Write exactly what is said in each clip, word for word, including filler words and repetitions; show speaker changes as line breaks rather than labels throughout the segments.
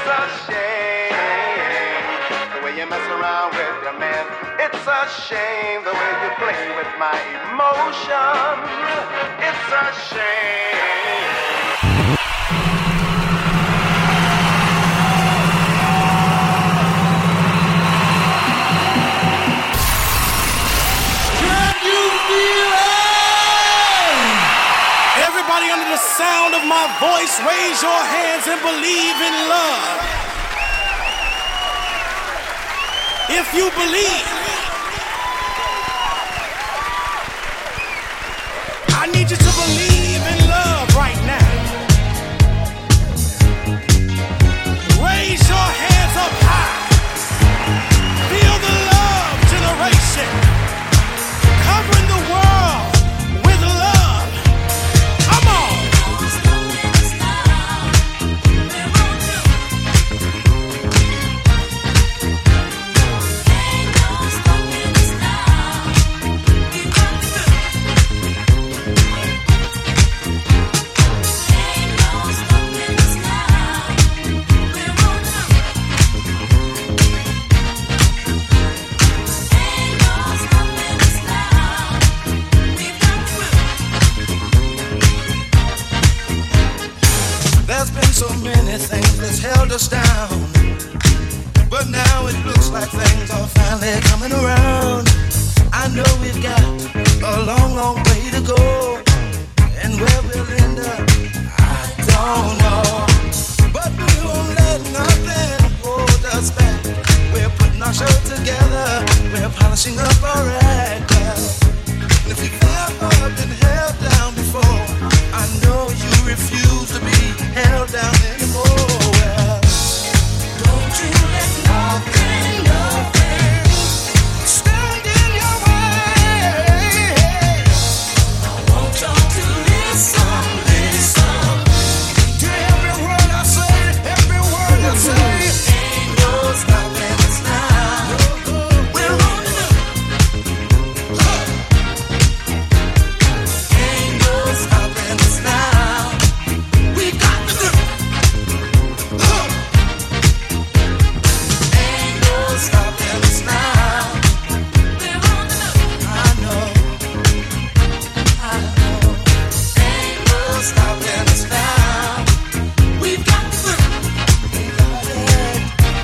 a shame the way you mess around with your man. It's a shame the way you play with my emotions. It's a shame.
Everybody under the sound of my voice, raise your hands and believe in love. If you believe, I need you to believe in love right now. Raise your hands up high. Feel the love generation covering the world with love. Come on.
There's been so many things that's held us down, but now it looks like things are finally coming around. I know we've got a long, long way to go, and where we'll end up, I don't know. But we won't let nothing hold us back. We're putting our show together, we're polishing up our act. And if you've ever been held down before, I know you refuse to be held down anymore. Well, don't you let nothing, nothing stand in your way. I want y'all to listen, listen to every word I say, every word I say. Ain't no stopping us now. We're on the ain't no stopping us now. We got the grip. Ain't no stopping us now. We're on the I know. I know. Ain't no stopping us now. We've got the grip. We got it.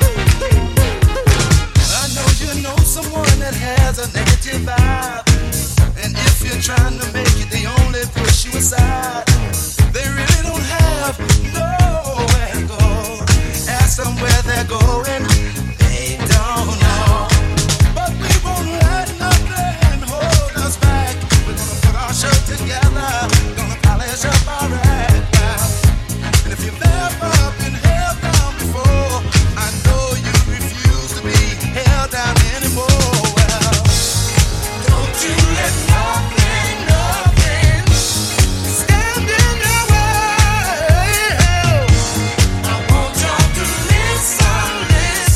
I know you know someone that has a negative vibe, and if you're trying to make it, they only push you aside. They really don't have nowhere to go. Ask them where they're going, they don't know. But we won't let nothing hold us back. We're gonna put our show together, gonna polish up our act now. And if you've ever been held down before, I know you refuse to be held down anymore. Well, don't you let nothing, nothing stand in your way. I want y'all to listen, listen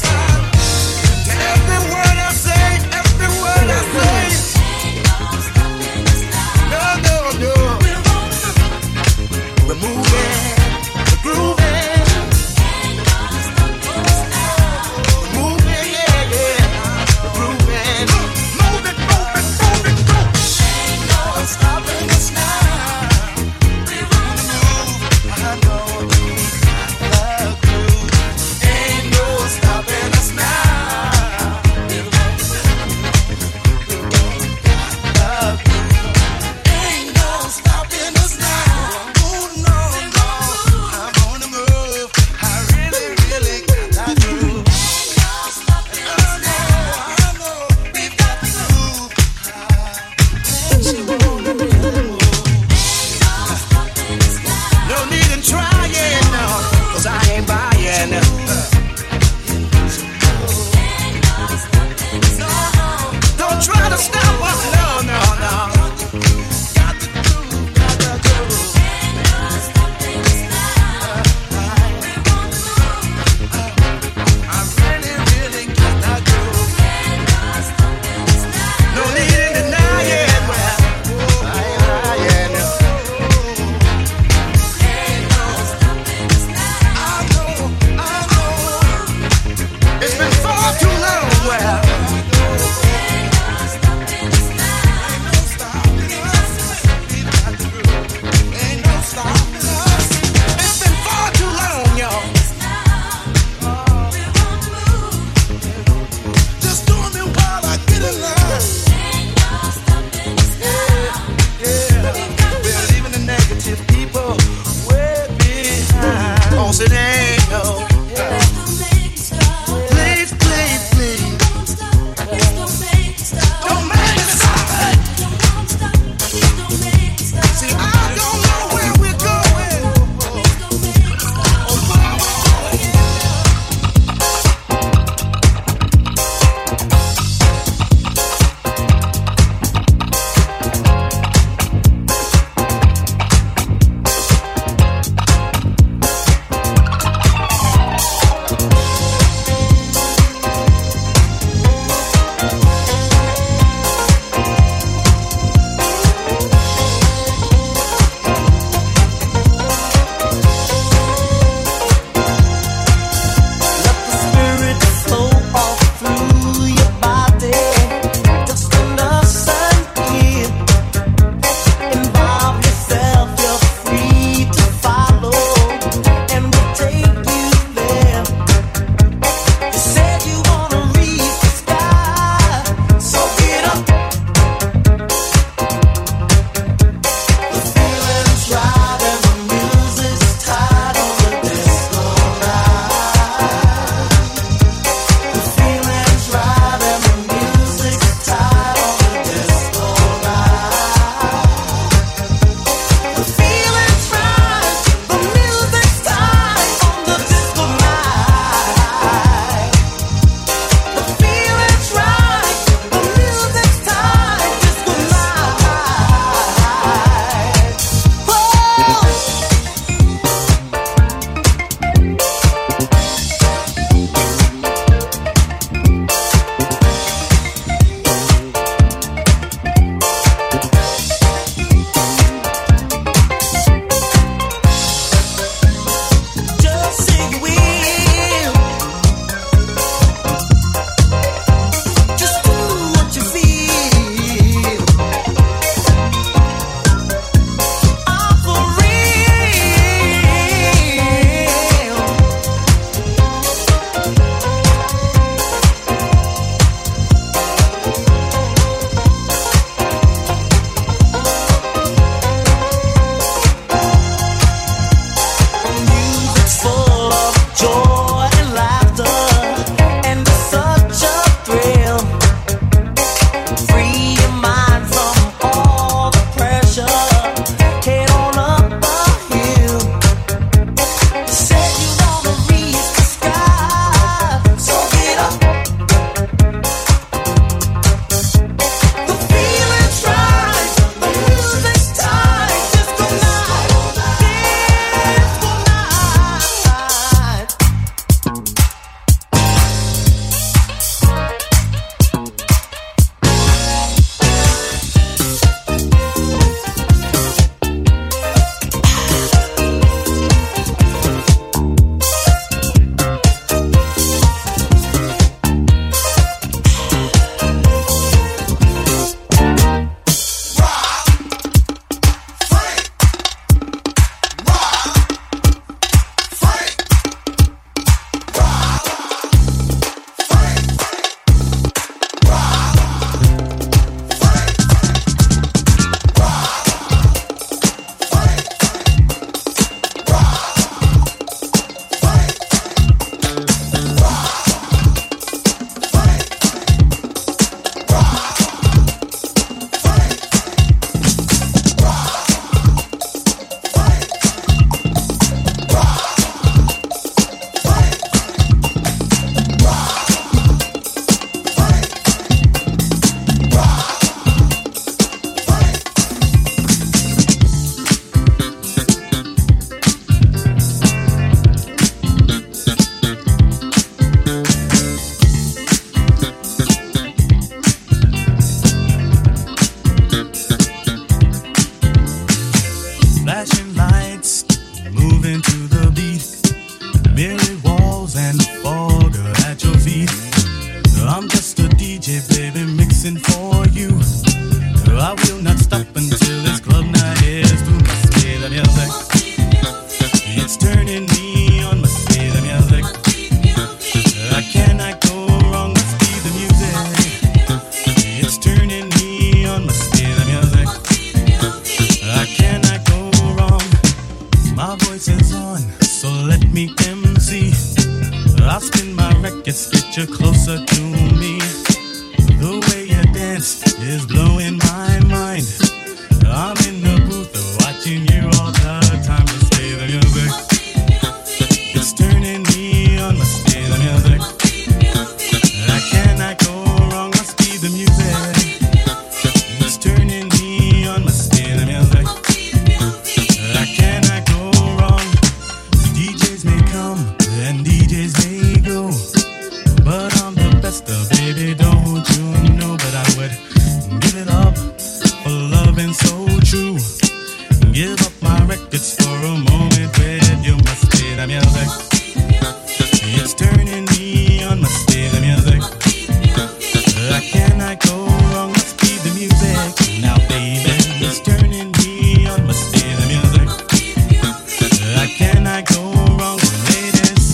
I'll spin my records, get you closer to me. The way you dance is blowing my mind. I'm in the booth watching you all the time. Let's play the music. It's turning me on. Let's play the music. I cannot go wrong. Must be the music. It's turning me on. Must be the music. I cannot go wrong. D Js may come and D Js may go, but I'm the best of baby. Don't you know? But I would give it up for loving so true. Give up my records for a moment with you. Must be the music. It's turning me on. Must be the music. I cannot go wrong. Must be the music. Now baby, it's turning me on. Must be the music. I cannot go wrong, ladies.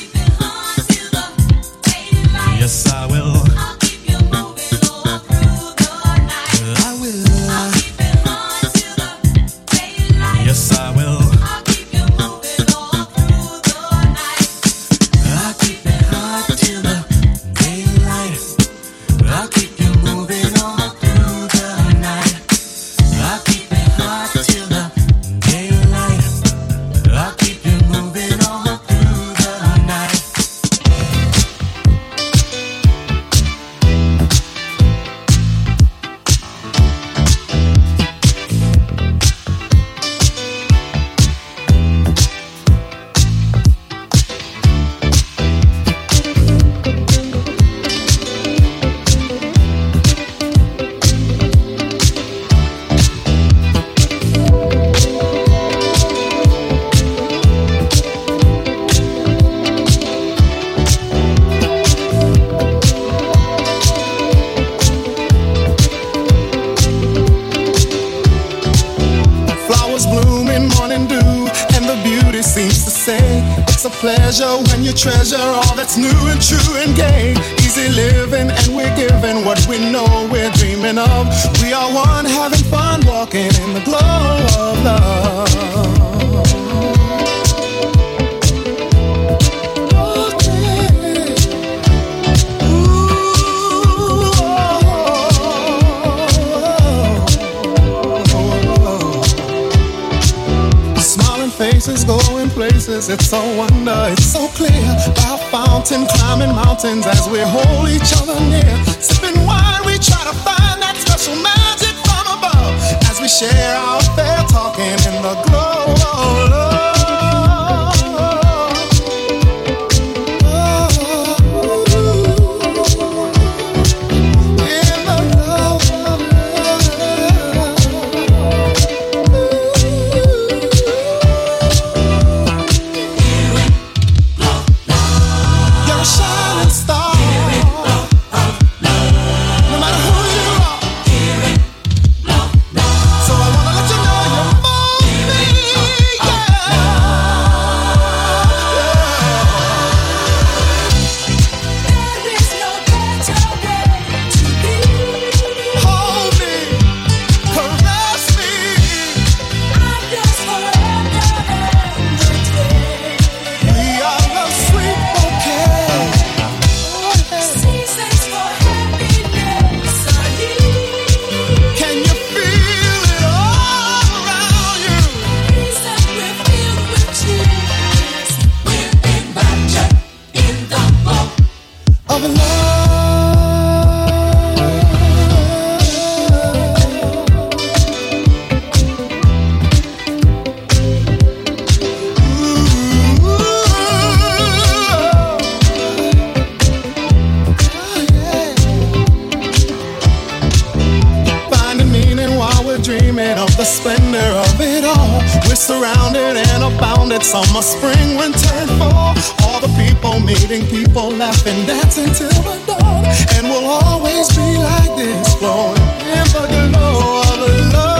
Yes, I will. I will. Yes, I will. I'll keep it hot till the daylight. I'll keep you moving all through the night. I'll keep it hot till the daylight. I'll keep you moving all through the night.
Flowers bloom in morning dew, and the beauty seems to say it's a pleasure when you treasure all that's new and true and gay. Easy living, and we're giving what we know we're dreaming of. We are one, having fun, walking in the glow of love. Faces going places, it's so wonder, it's so clear. By a fountain, climbing mountains as we hold each other near. Sipping wine, we try to find that special magic from above as we share our fair talking in the glow of love. Summer, spring, winter, and fall. All the people meeting, people laughing, dancing till the dawn. And we'll always be like this, flowing in the glow of love.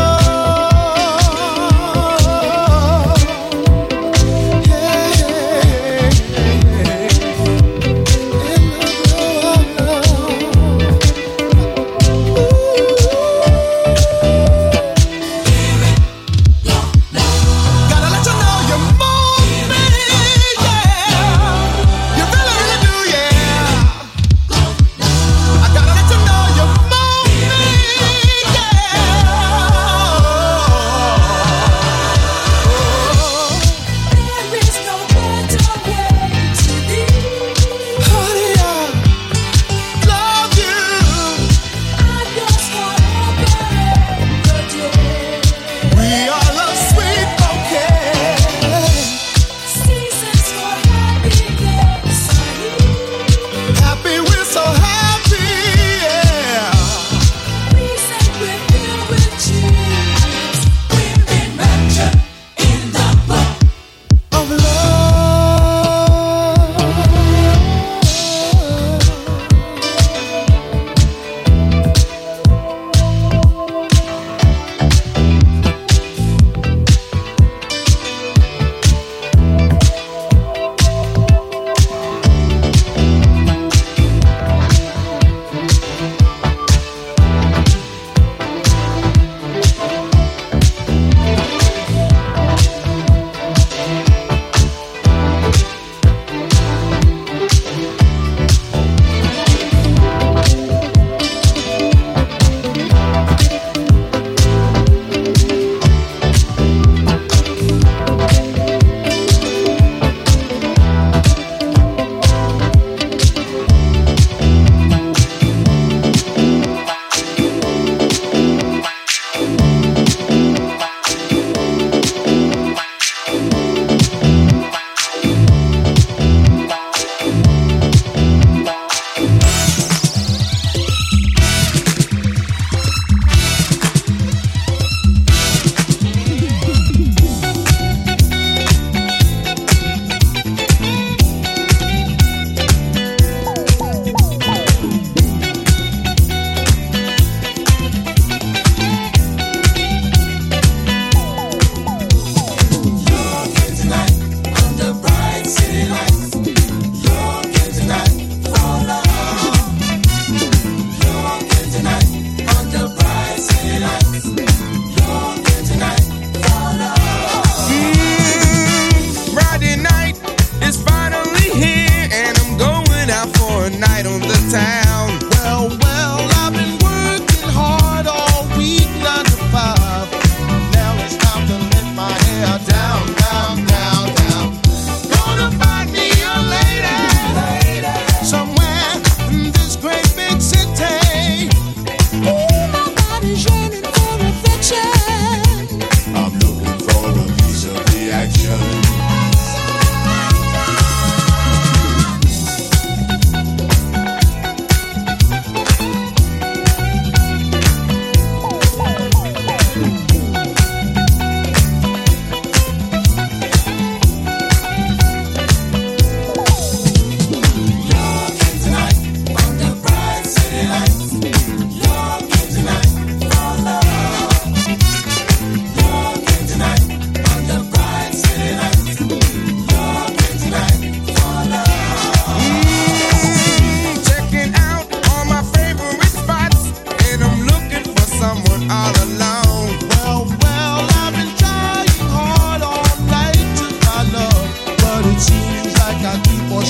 Yeah, yeah, yeah. In the glow of love. Gotta let you know you're more. Yeah, you really, really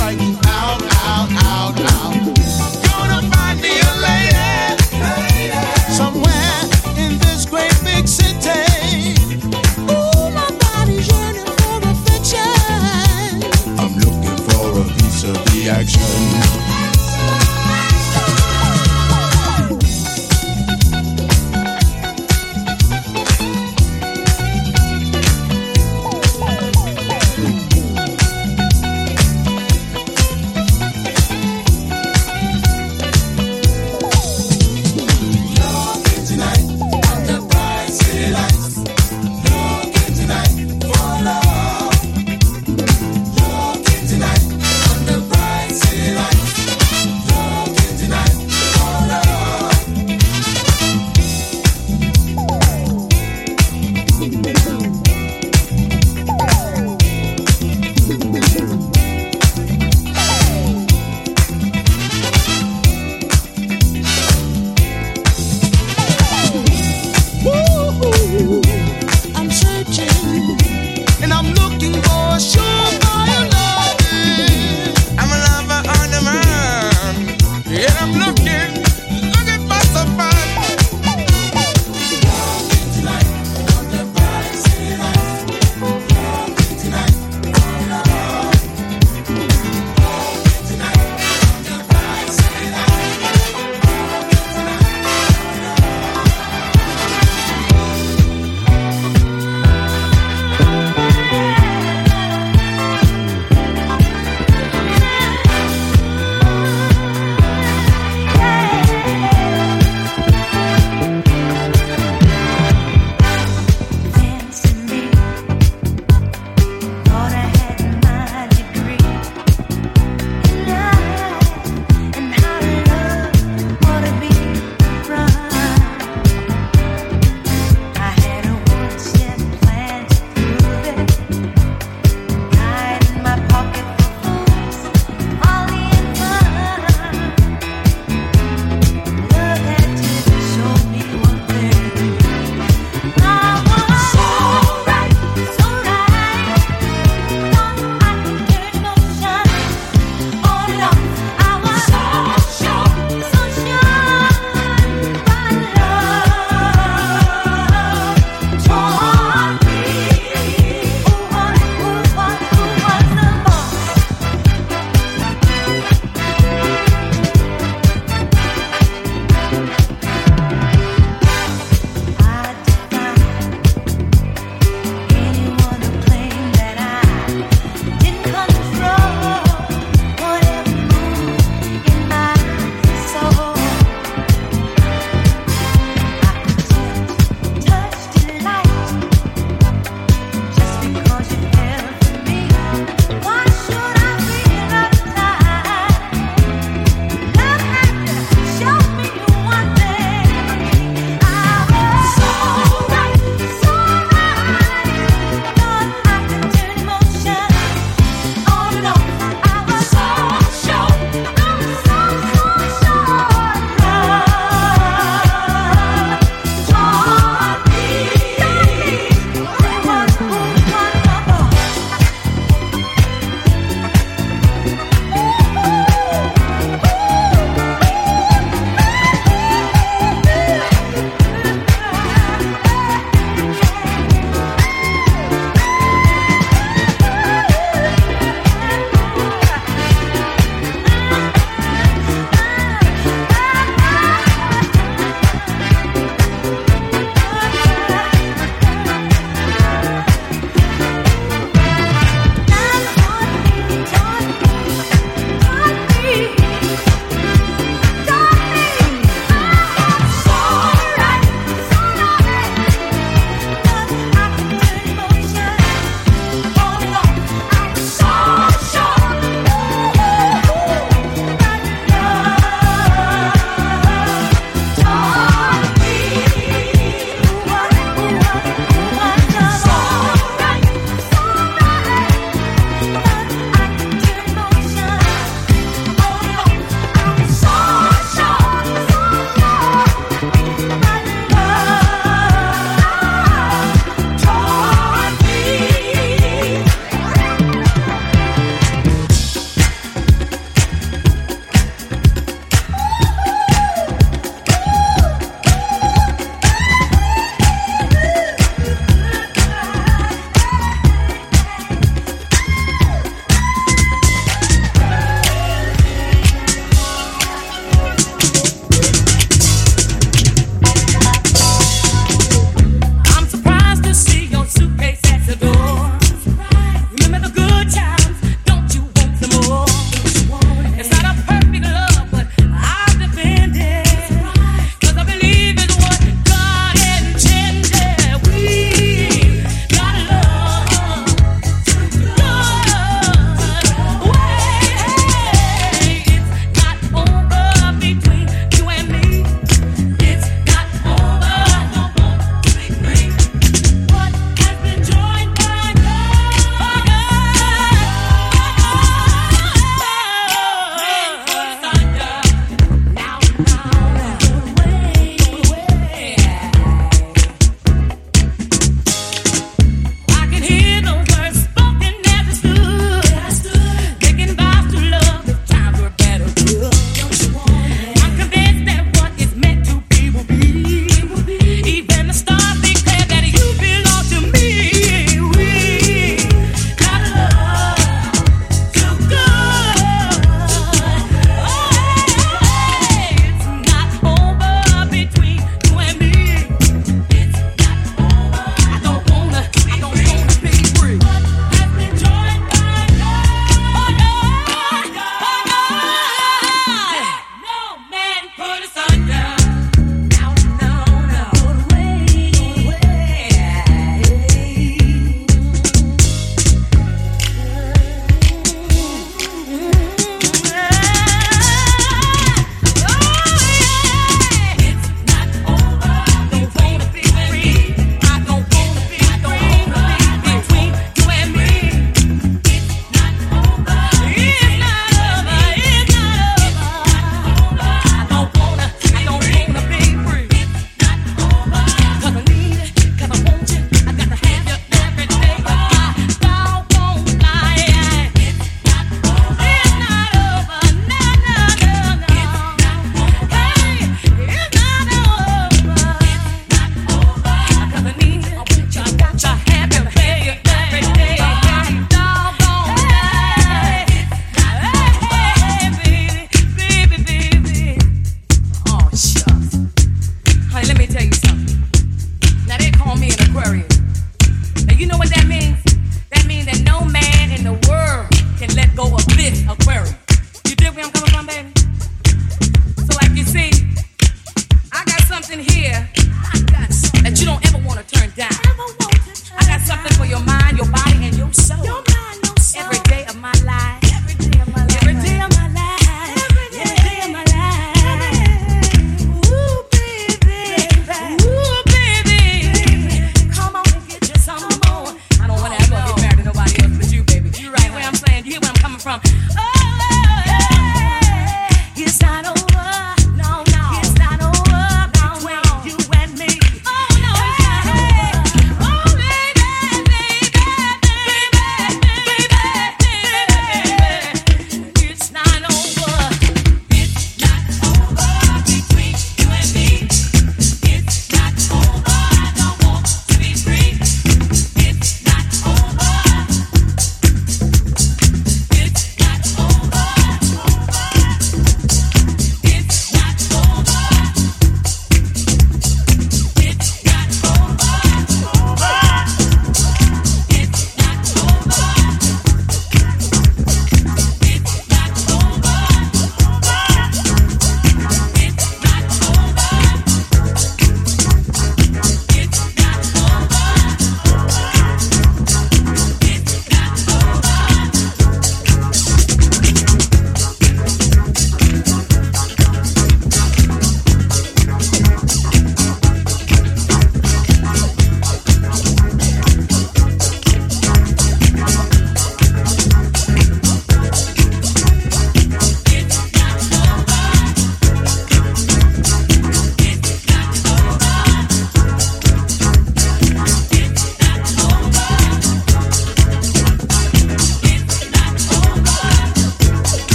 frightened. Out, out, out, out. Gonna find me a lady, lady. Somewhere in this great big city. Ooh, my body's yearning for affection.
I'm looking for a piece of the action.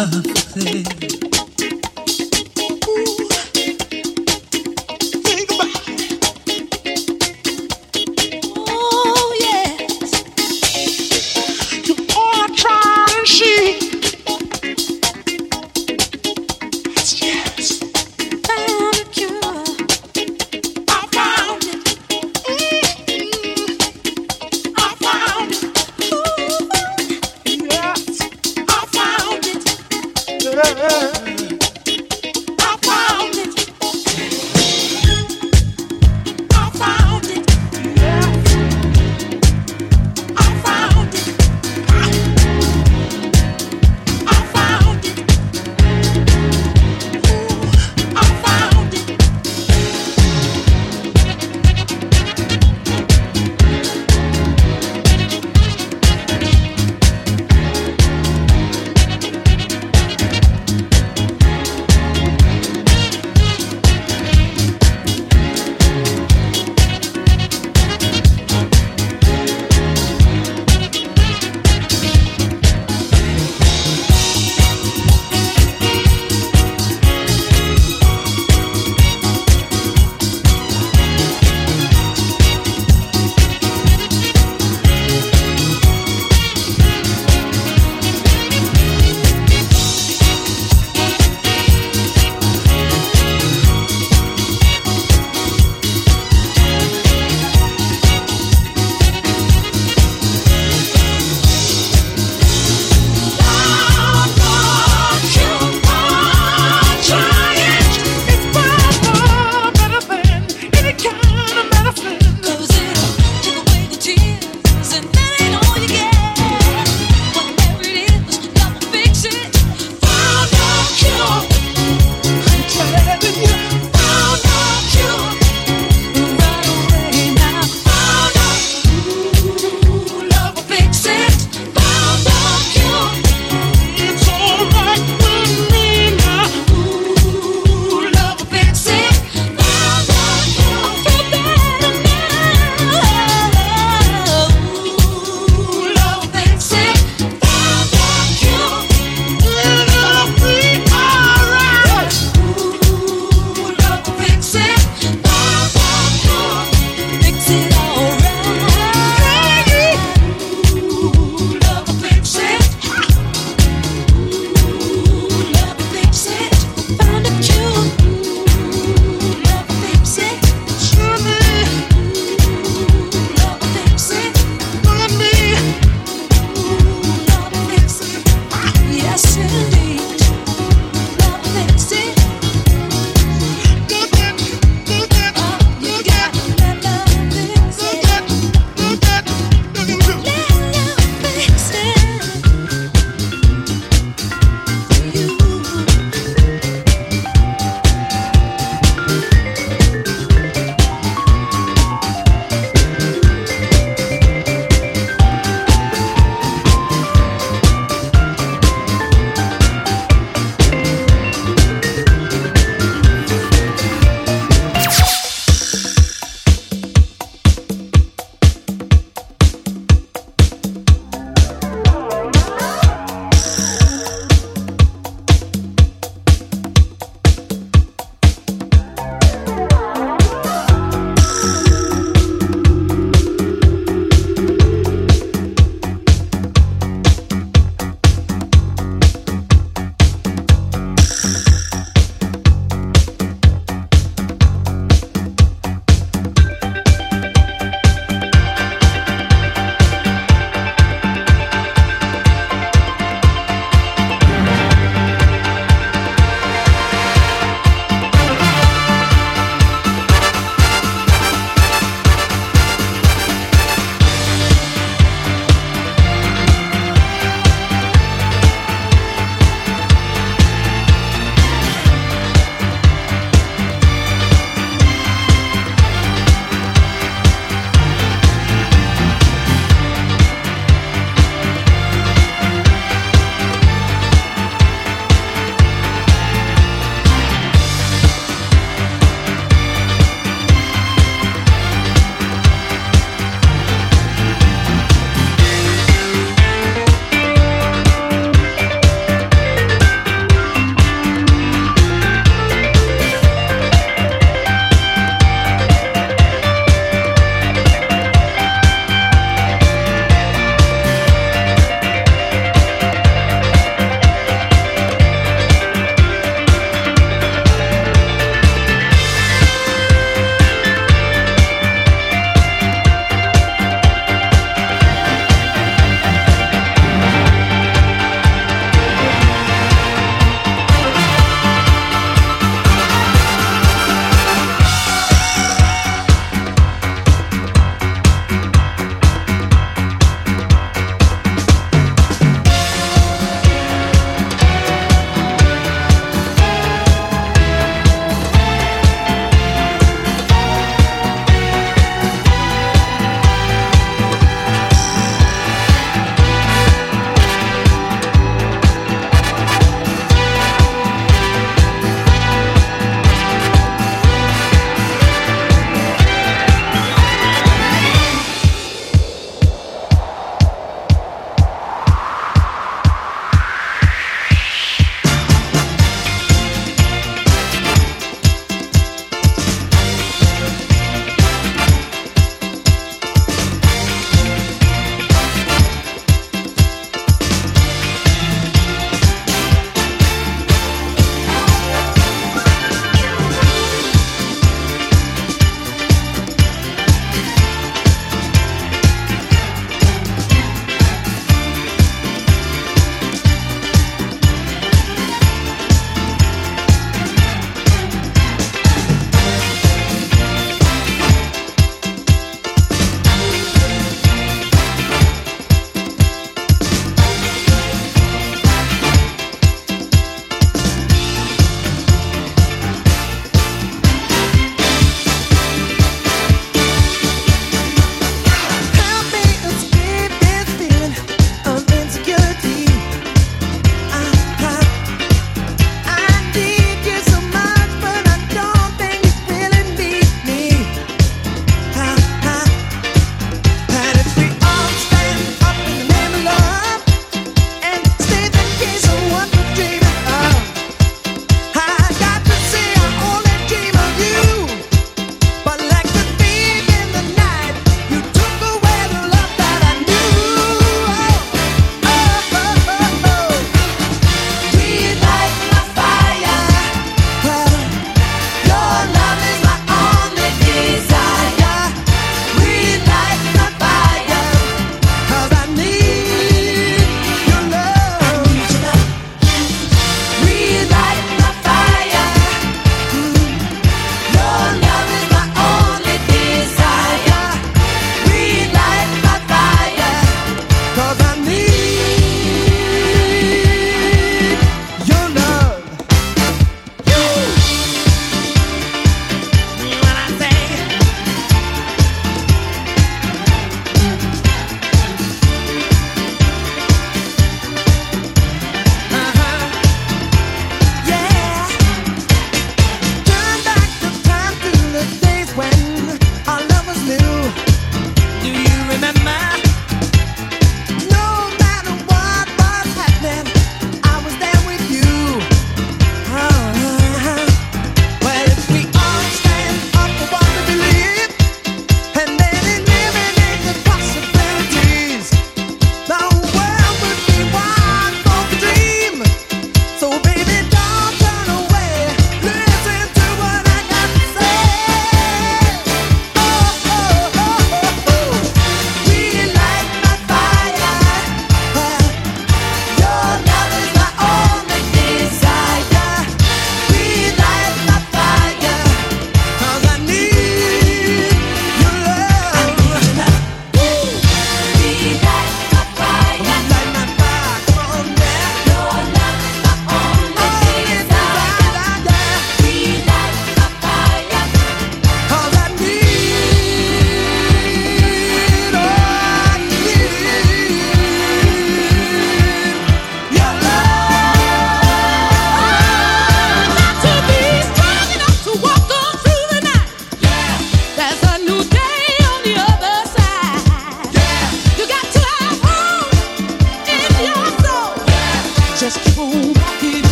Yeah.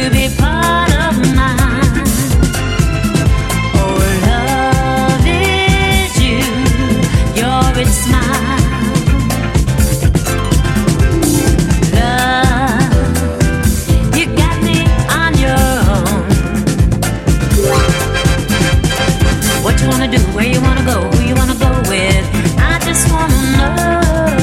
be part of mine. Oh, love is you, you're its smile. Love, you got me on your own. What you wanna do, where you wanna go, who you wanna go with, I just wanna know.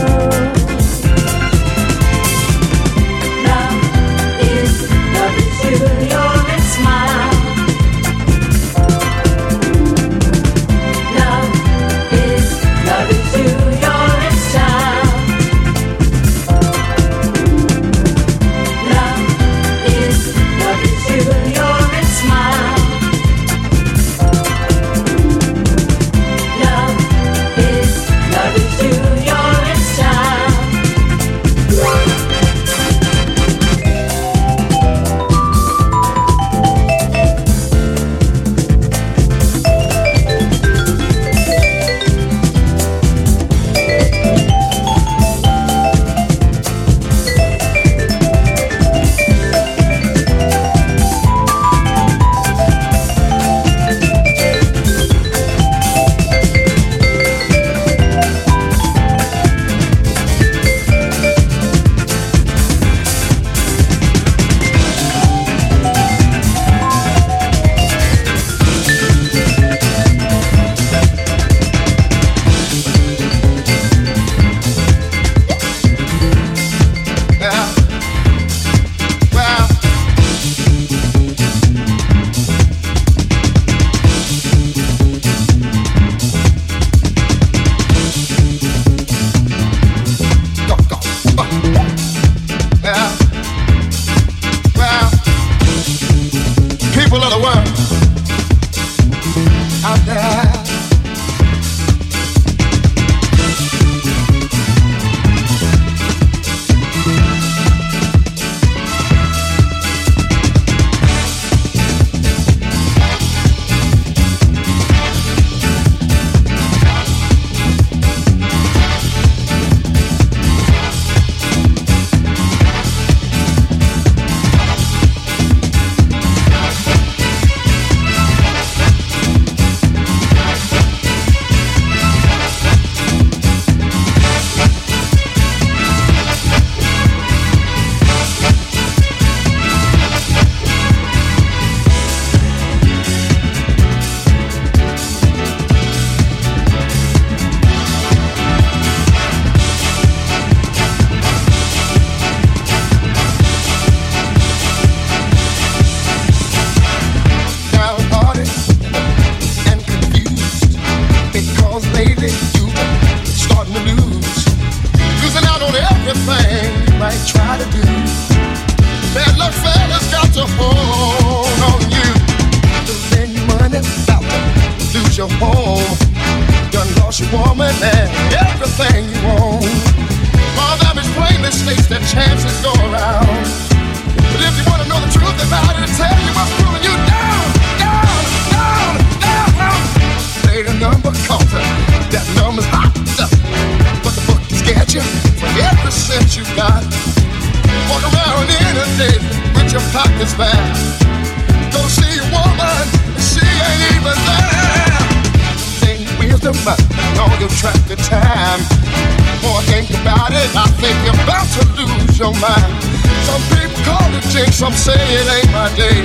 Some say it ain't my day.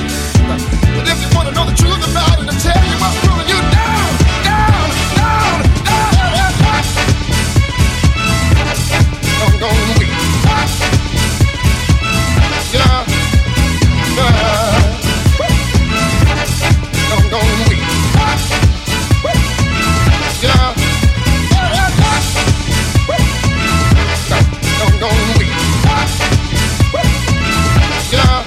But if you wanna know the truth about it, I'll tell you what's pulling you down, down, down, down. I'm gonna weep. Yeah, yeah. I'm gonna weep. Yeah, I'm gonna weep. Yeah.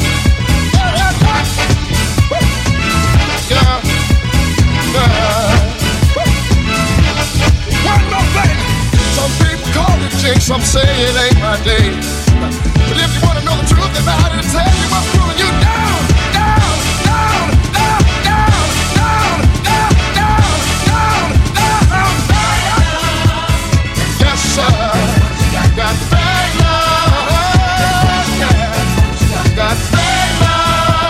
Some say it ain't my day. But if you wanna know the truth about it, I'll tell you what's pulling you down, down, down, down, down, down, down, down, down, down. Yes, sir. Got bad love. Yeah. Got bad love.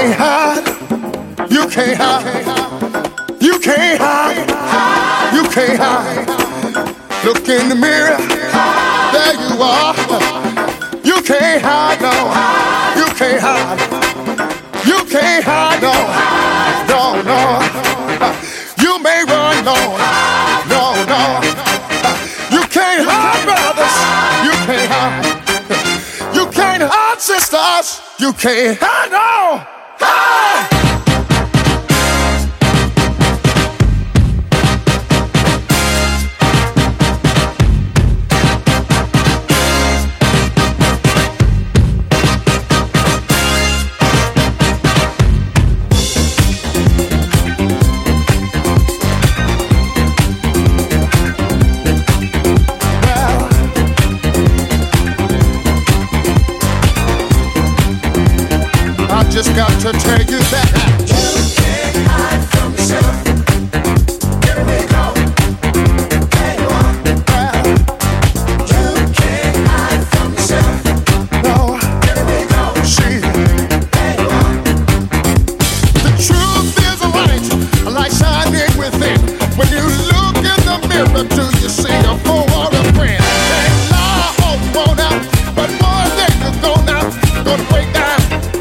can't hide, you can't hide, you can't hide, you can't hide. Look in the mirror, there you are. You can't hide, no, you can't hide, you can't hide, no, no, no. You may run, no, no, no. You can't hide, brothers, you can't hide, you can't hide, sisters, you can't hide, no. Hide. Just got to tell you that you can't hide from yourself. Here we go. There you are. Well, you can't hide from yourself. No. Here we go. See. There you are. The truth is a light, a light shining within. When you look in the mirror, do you see a fool or a friend? Can't lie, oh, you won't out, but one day you're gonna, gonna break down.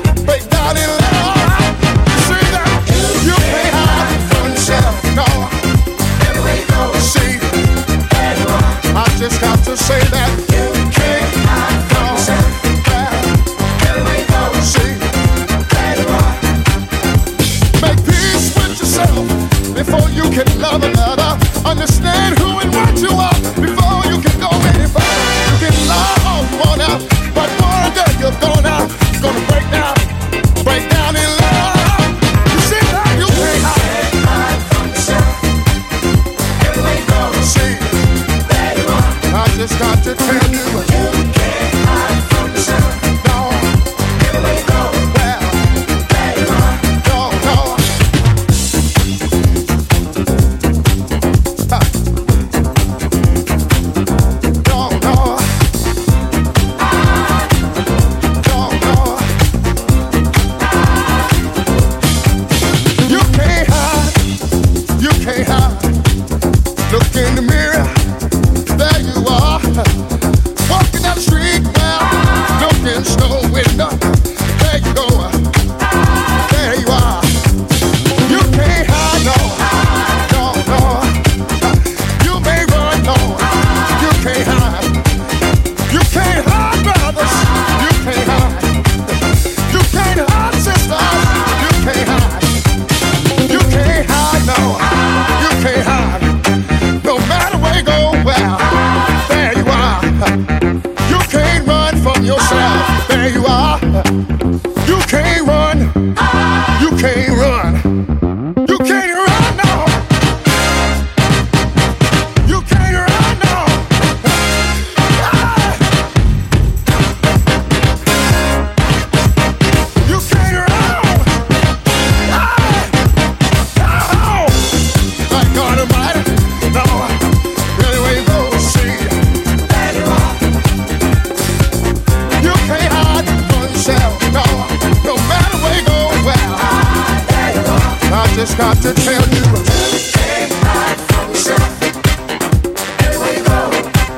Just got to say that you can't hide from yourself. Here we go. See, there you are. Make peace with yourself before you can love another. Understand who and what you are before you can go any further. You can lie all you want out, but one day you're gonna, gonna break down, break down in love. You see that you can't hide from yourself. Here we go. See. I just got to tell you, you can't hide from yourself. No, here we go. Well, there you are. No, no. Uh. No, no. No, no. You can't hide. You can't hide. Look in the mirror. There you are, walking down the street now, looking snow window. There you go, there you are. You can't hide, no, no, no. You may run, no, you can't hide. You can't hide, brothers, you can't hide. You can't hide, sisters, you can't hide. You can't hide, no, you can't hide. No matter where you go, well. You can't run from yourself. There you are. You can't run. You can't run. You can't run, no. You can't run, no. You can't run. Oh, my God Almighty, no. Really, where you go, see. No, no matter where you go, well, I just got to tell you, you can't hide from yourself. Here we go.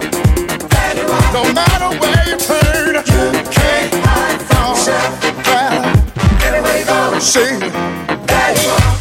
No matter where you turn, you can't hide from yourself. Well, here we go. See, there you are.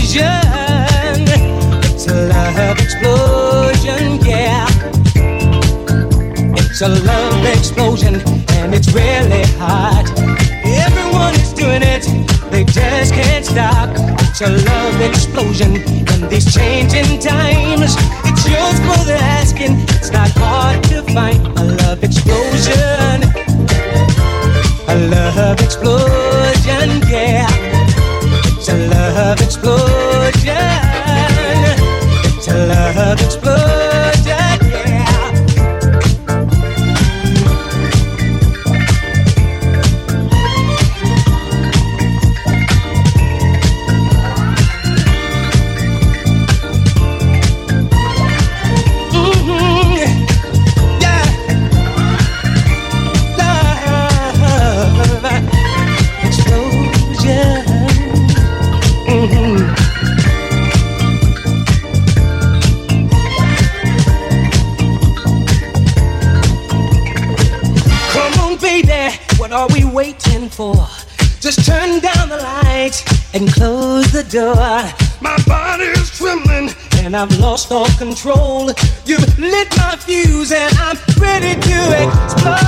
It's a love explosion, yeah. It's a love explosion, and it's really hot. Everyone is doing it, they just can't stop. It's a love explosion in these changing times. It's yours for the asking, it's not hard to find. A love explosion, a love explosion, yeah. It's a love explosion, it's a love explosion, yeah. What are we waiting for? Just turn down the lights and close the door. My body is trembling and I've lost all control. You've lit my fuse and I'm ready to explode.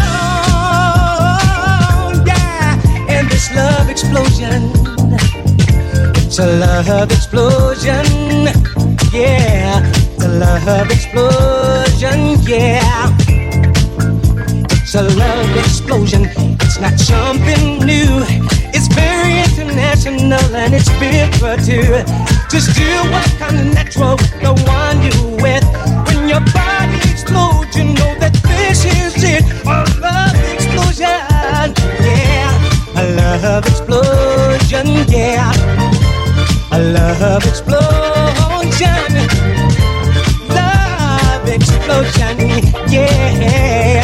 Yeah, and this love explosion, it's a love explosion. Yeah, it's a love explosion. Yeah. It's a love explosion, it's not something new. It's very international and it's big for two. Just do what kind of natural with the one you with. When your body explodes, you know that this is it. A love explosion, yeah. A love explosion, yeah. A love explosion. Love explosion, yeah.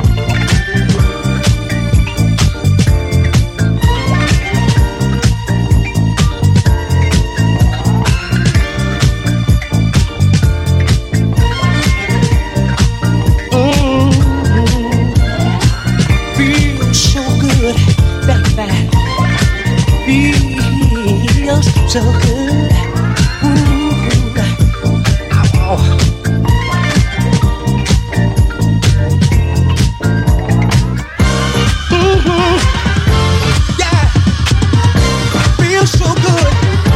So good. Ooh. Ow. Mm-hmm. Yeah. Feels so good.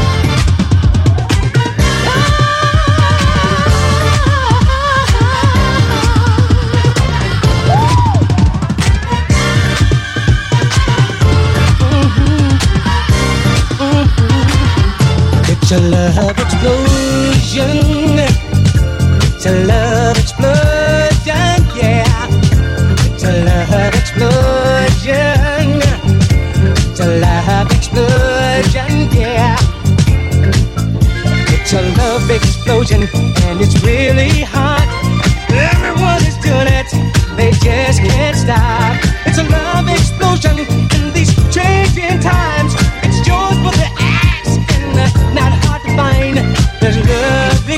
It's a love explosion. It's a love explosion, yeah. It's a love explosion. It's a love explosion, yeah. It's a love explosion, and it's really hot. Everyone is doing it, they just can't stop. It's a love explosion in these changing times. It's yours for the asking, not hard to find. There's love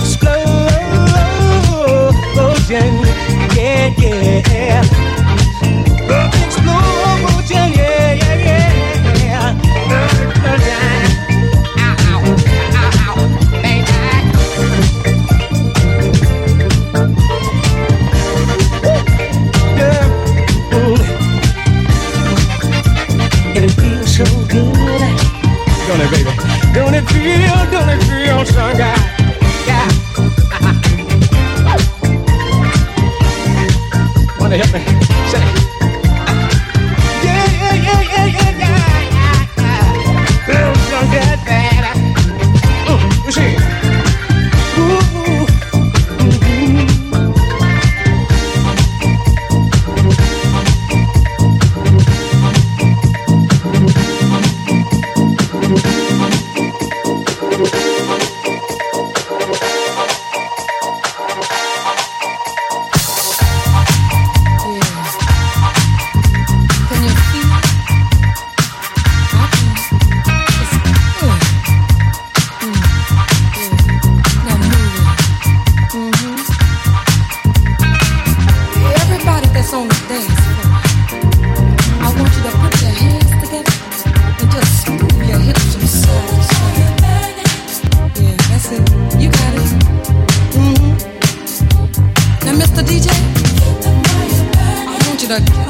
explosion, yeah, yeah. Love explosion, yeah, yeah, yeah. Love explosion, ow, ow, ow, baby.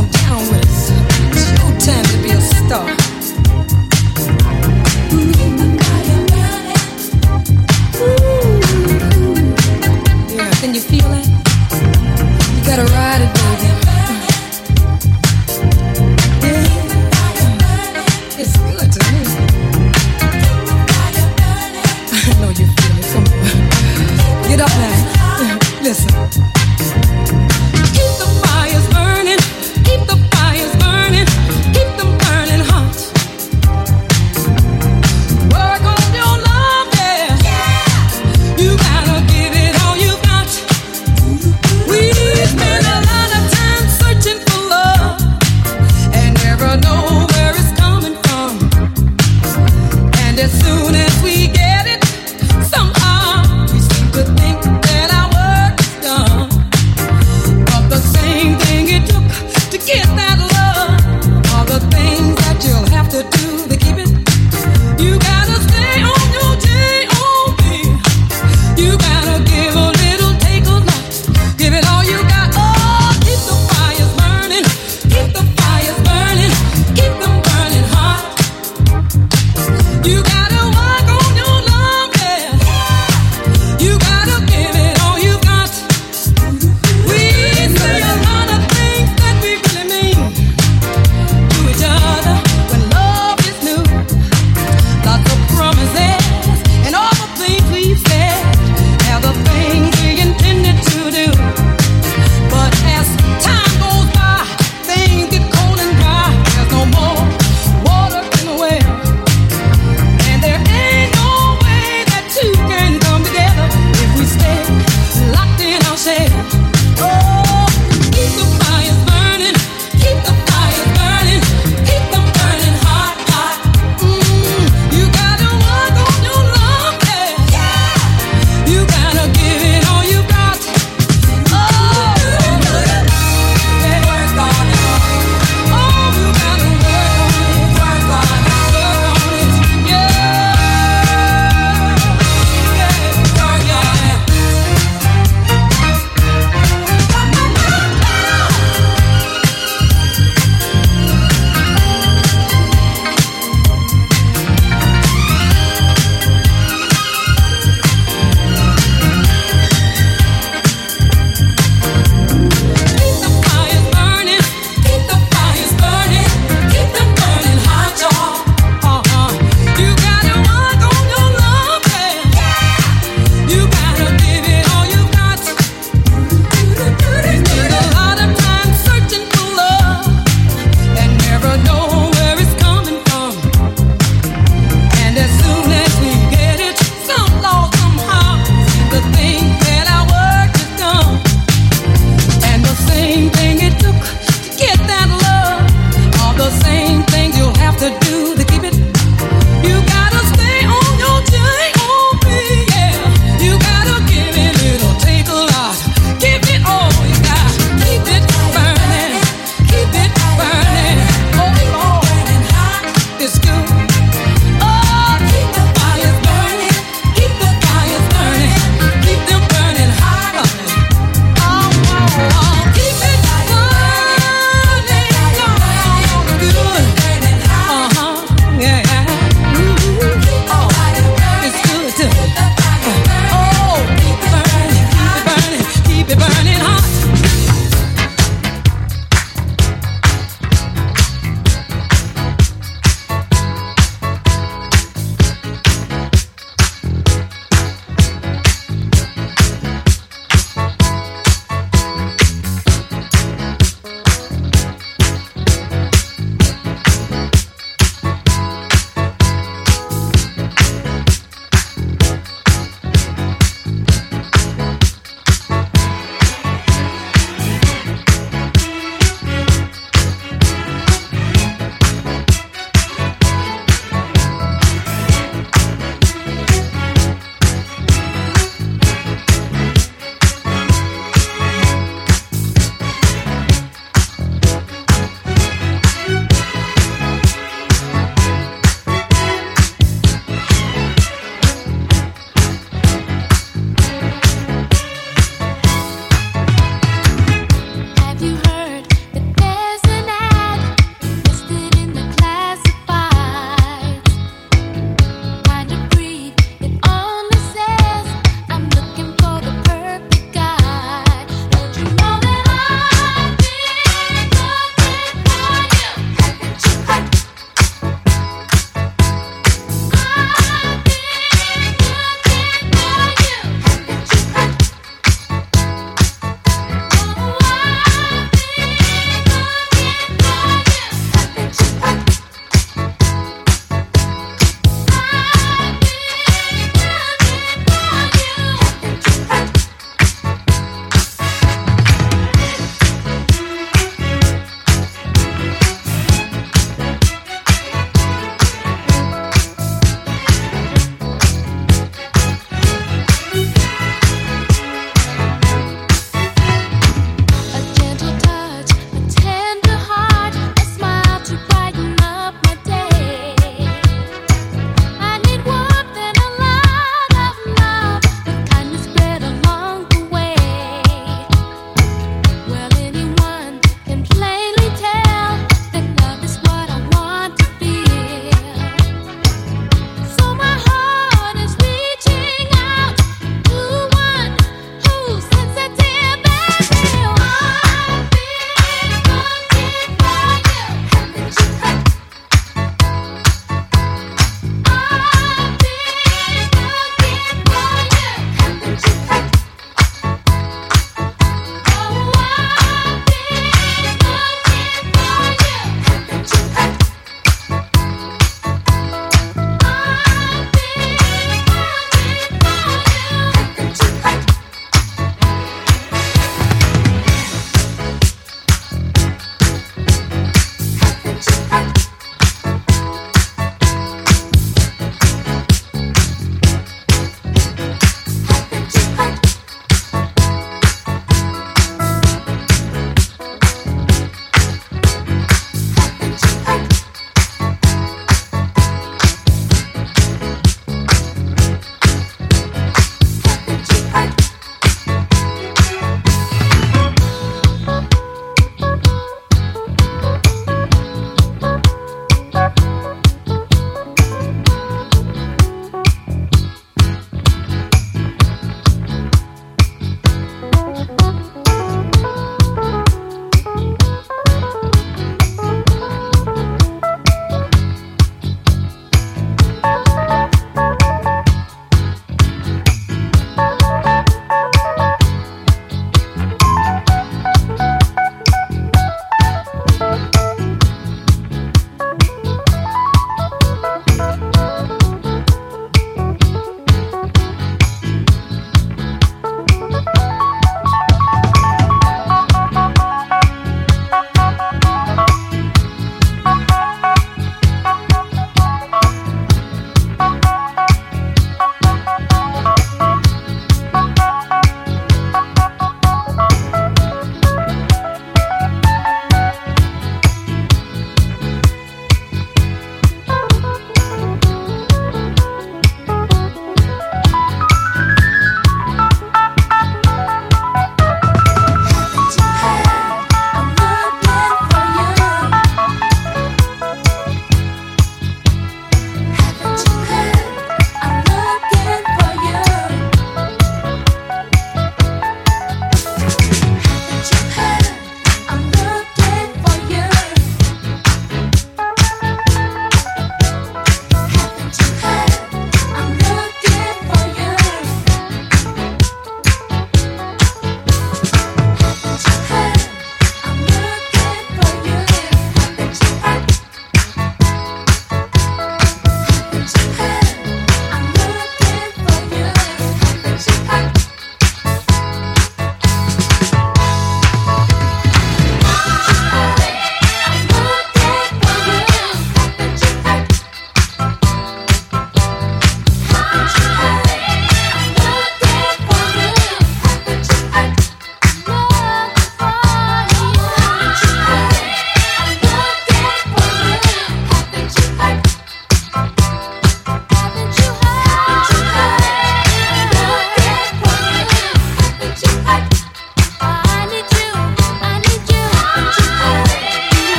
on down with us. It's your time to be a star. Ooh. Yeah, can you feel it? You gotta ride